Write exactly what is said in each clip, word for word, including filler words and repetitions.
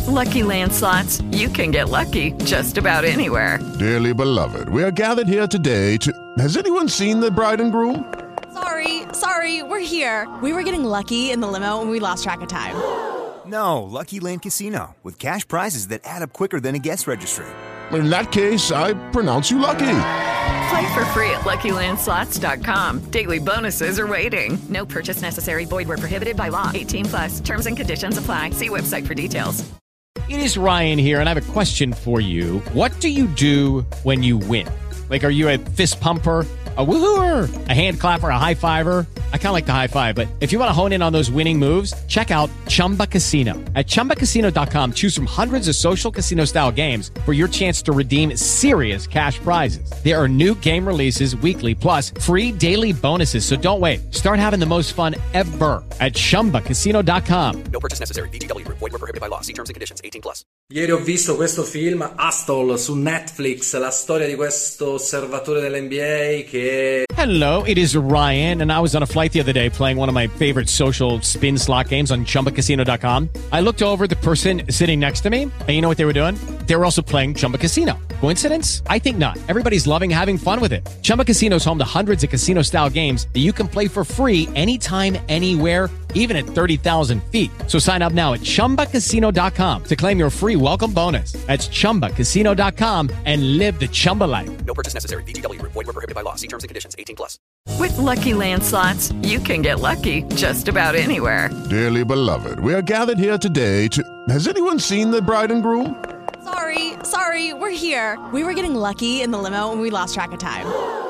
Lucky Land Slots, you can get lucky just about anywhere. Dearly beloved, we are gathered here today to... Has anyone seen the bride and groom? Sorry, sorry, we're here. We were getting lucky in the limo and we lost track of time. No, Lucky Land Casino, with cash prizes that add up quicker than a guest registry. In that case, I pronounce you lucky. Play for free at Lucky Land Slots dot com. Daily bonuses are waiting. No purchase necessary. Void where prohibited by law. eighteen plus. Terms and conditions apply. See website for details. It is Ryan here, and I have a question for you. What do you do when you win? Like, are you a fist pumper, a woohooer, a hand clapper, a high fiver? I kind of like the high five, but if you want to hone in on those winning moves, check out Chumba Casino. At chumba casino dot com, choose from hundreds of social casino-style games for your chance to redeem serious cash prizes. There are new game releases weekly, plus free daily bonuses, so don't wait. Start having the most fun ever at chumba casino dot com. No purchase necessary. V G W. Void where prohibited by law. See terms and conditions. eighteen plus. Ieri ho visto questo film, Hustle, su Netflix, la storia di questo osservatore dell'N B A che... Hello, it is Ryan, and I was on a flight the other day playing one of my favorite social spin slot games on chumba casino dot com. I looked over at the person sitting next to me, and you know what they were doing? They were also playing Chumba Casino. Coincidence? I think not. Everybody's loving having fun with it. Chumba Casino is home to hundreds of casino-style games that you can play for free anytime, anywhere, even at thirty thousand feet. So sign up now at chumba casino dot com to claim your free welcome bonus. That's chumba casino dot com and live the Chumba life. No purchase necessary. V G W. Void where prohibited by law. See terms and conditions. eighteen plus. With Lucky Land Slots, you can get lucky just about anywhere. Dearly beloved, we are gathered here today to... Has anyone seen the bride and groom? Sorry, sorry, we're here. We were getting lucky in the limo and we lost track of time.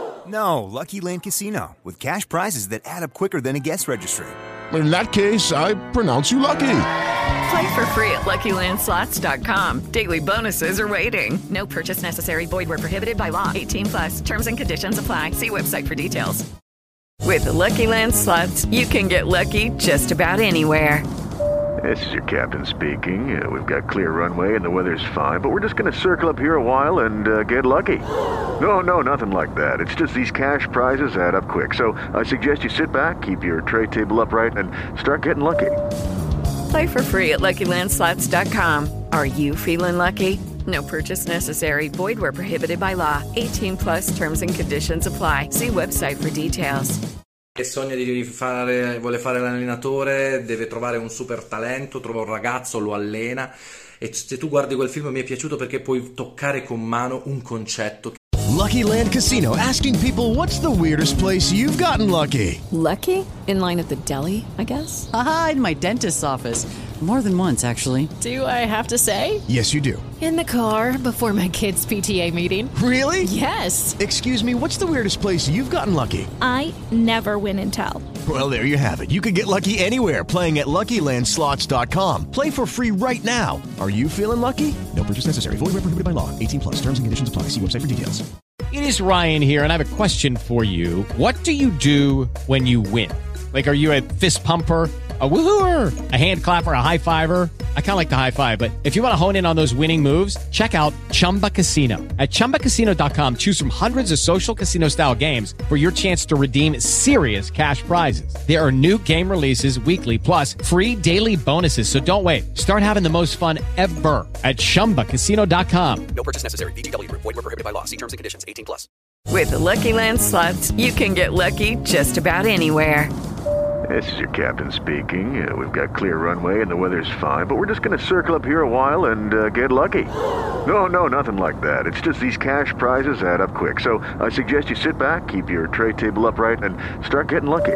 No, Lucky Land Casino, with cash prizes that add up quicker than a guest registry. In that case, I pronounce you lucky. Play for free at Lucky Land Slots dot com. Daily bonuses are waiting. No purchase necessary. Void where prohibited by law. eighteen plus. Terms and conditions apply. See website for details. With Lucky Land Slots, you can get lucky just about anywhere. This is your captain speaking. Uh, we've got clear runway and the weather's fine, but we're just going to circle up here a while and uh, get lucky. No, no, nothing like that. It's just these cash prizes add up quick. So I suggest you sit back, keep your tray table upright, and start getting lucky. Play for free at Lucky Land Slots dot com. Are you feeling lucky? No purchase necessary. Void where prohibited by law. eighteen plus. Terms and conditions apply. See website for details. Che sogna di fare, vuole fare l'allenatore, deve trovare un super talento, trova un ragazzo, lo allena, e se tu guardi quel film mi è piaciuto perché puoi toccare con mano un concetto. Lucky Land Casino, asking people, what's the weirdest place you've gotten lucky? Lucky? In line at the deli, I guess? Aha, in my dentist's office. More than once, actually. Do I have to say? Yes, you do. In the car before my kids' P T A meeting. Really? Yes. Excuse me, what's the weirdest place you've gotten lucky? I never win and tell. Well, there you have it. You can get lucky anywhere, playing at Lucky Land Slots dot com. Play for free right now. Are you feeling lucky? No purchase necessary. Void where prohibited by law. eighteen plus. Terms and conditions apply. See website for details. It is Ryan here, and I have a question for you. What do you do when you win? Like, are you a fist pumper, a woohooer, a hand clapper, a high fiver? I kind of like the high five, but if you want to hone in on those winning moves, check out Chumba Casino. At chumba casino dot com, choose from hundreds of social casino-style games for your chance to redeem serious cash prizes. There are new game releases weekly, plus free daily bonuses, so don't wait. Start having the most fun ever at chumba casino dot com. No purchase necessary. V G W. Void where prohibited by law. See terms and conditions. eighteen plus. With Lucky Land Slots, you can get lucky just about anywhere. This is your captain speaking. Uh, we've got clear runway and the weather's fine, but we're just going to circle up here a while and uh, get lucky. No, no, nothing like that. It's just these cash prizes add up quick. So I suggest you sit back, keep your tray table upright, and start getting lucky.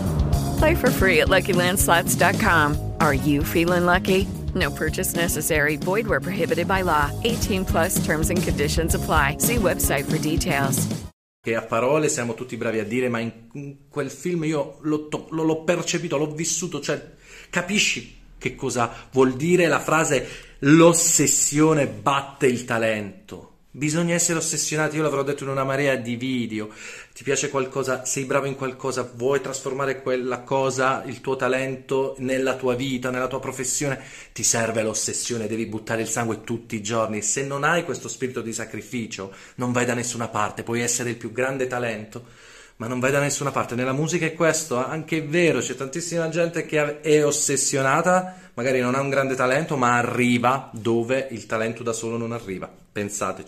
Play for free at Lucky Land Slots dot com. Are you feeling lucky? No purchase necessary. Void where prohibited by law. eighteen plus. Terms and conditions apply. See website for details. Che a parole siamo tutti bravi a dire, ma in quel film io l'ho, to- l'ho percepito, l'ho vissuto, cioè capisci che cosa vuol dire la frase l'ossessione batte il talento. Bisogna essere ossessionati, io l'avrò detto in una marea di video. Ti piace qualcosa, sei bravo in qualcosa, vuoi trasformare quella cosa, il tuo talento, nella tua vita, nella tua professione, ti serve l'ossessione, devi buttare il sangue tutti i giorni. Se non hai questo spirito di sacrificio, non vai da nessuna parte. Puoi essere il più grande talento, ma non vai da nessuna parte. Nella musica è questo, anche è vero, c'è tantissima gente che è ossessionata, magari non ha un grande talento, ma arriva dove il talento da solo non arriva. Pensateci.